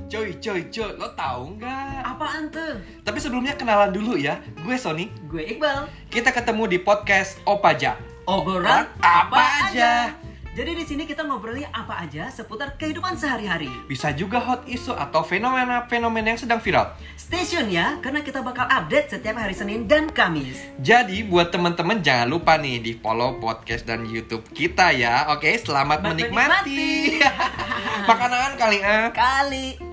Coy, lo tahu nggak? Apaan tuh? Tapi sebelumnya kenalan dulu ya. Gue Sony. Gue Iqbal. Kita ketemu di podcast Opaja. Obrolan apa aja. Jadi di sini kita ngobrolnya apa aja seputar kehidupan sehari-hari. Bisa juga hot issue atau fenomena-fenomena yang sedang viral. Stay tune ya, karena kita bakal update setiap hari Senin dan Kamis. Jadi buat teman-teman jangan lupa nih di follow podcast dan YouTube kita ya. Oke, selamat menikmati. Makanan kali Kali.